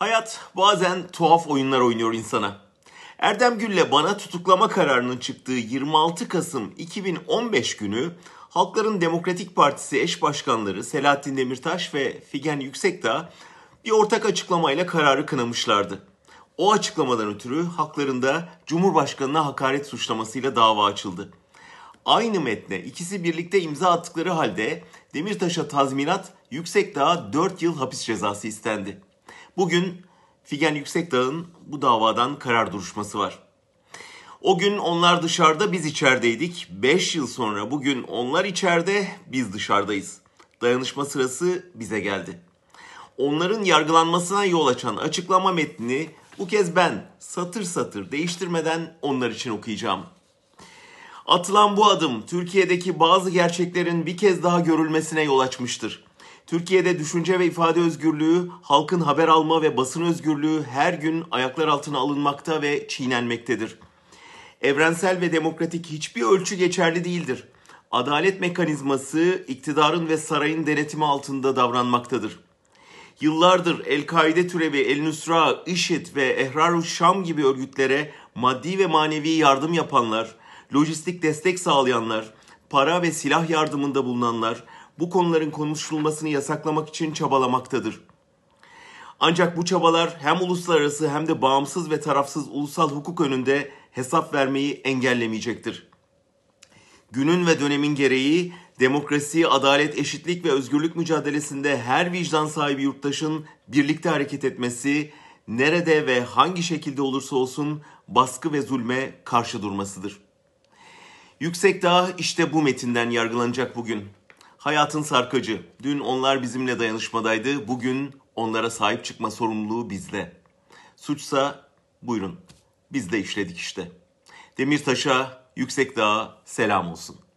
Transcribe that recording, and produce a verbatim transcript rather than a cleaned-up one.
Hayat bazen tuhaf oyunlar oynuyor insana. Erdem Gül'le bana tutuklama kararının çıktığı yirmi altı Kasım iki bin on beş günü Halkların Demokratik Partisi eş başkanları Selahattin Demirtaş ve Figen Yüksekdağ bir ortak açıklamayla kararı kınamışlardı. O açıklamadan ötürü haklarında Cumhurbaşkanı'na hakaret suçlamasıyla dava açıldı. Aynı metne ikisi birlikte imza attıkları halde Demirtaş'a tazminat, Yüksekdağ'a dört yıl hapis cezası istendi. Bugün Figen Yüksekdağ'ın bu davadan karar duruşması var. O gün onlar dışarıda, biz içerideydik. beş yıl sonra bugün onlar içeride, biz dışarıdayız. Dayanışma sırası bize geldi. Onların yargılanmasına yol açan açıklama metnini bu kez ben satır satır değiştirmeden onlar için okuyacağım. Atılan bu adım Türkiye'deki bazı gerçeklerin bir kez daha görülmesine yol açmıştır. Türkiye'de düşünce ve ifade özgürlüğü, halkın haber alma ve basın özgürlüğü her gün ayaklar altına alınmakta ve çiğnenmektedir. Evrensel ve demokratik hiçbir ölçü geçerli değildir. Adalet mekanizması iktidarın ve sarayın denetimi altında davranmaktadır. Yıllardır El-Kaide türevi El-Nusra, IŞİD ve Ehrar-ı Şam gibi örgütlere maddi ve manevi yardım yapanlar, lojistik destek sağlayanlar, para ve silah yardımında bulunanlar bu konuların konuşulmasını yasaklamak için çabalamaktadır. Ancak bu çabalar hem uluslararası hem de bağımsız ve tarafsız ulusal hukuk önünde hesap vermeyi engellemeyecektir. Günün ve dönemin gereği demokrasi, adalet, eşitlik ve özgürlük mücadelesinde her vicdan sahibi yurttaşın birlikte hareket etmesi, nerede ve hangi şekilde olursa olsun baskı ve zulme karşı durmasıdır. Yüksekdağ işte bu metinden yargılanacak bugün. Hayatın sarkacı. Dün onlar bizimle dayanışmadaydı. Bugün onlara sahip çıkma sorumluluğu bizde. Suçsa buyurun. Biz de işledik işte. Demirtaş'a, Yüksekdağ'a selam olsun.